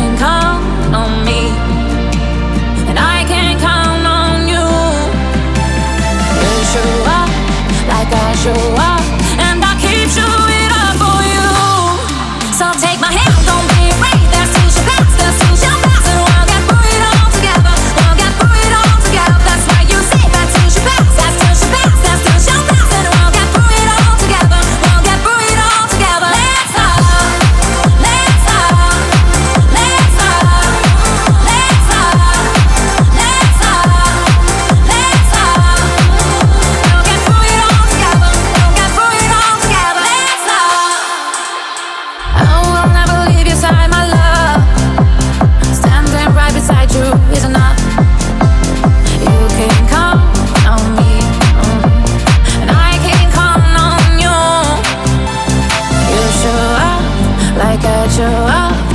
can count on me, and I can count on you. You show up like I show up, and I keep showing up for you. So take my hand, don't be afraid. There's two shall pass, there's two shall pass, and we'll get through it all together. We'll get through it all together. That's why you say that two shall pass, that two shall pass, that two shall pass, and we'll get through it all together. We'll get through it all together. Let's talk, let's talk, let's talk, let's talk, let's talk, let's talk. We'll get through it all together. We'll get through it all together. Let's talk. I will never leave your side, my love. Standing right beside you is enough. You can count on me, and I can count on you. You show up like I show up,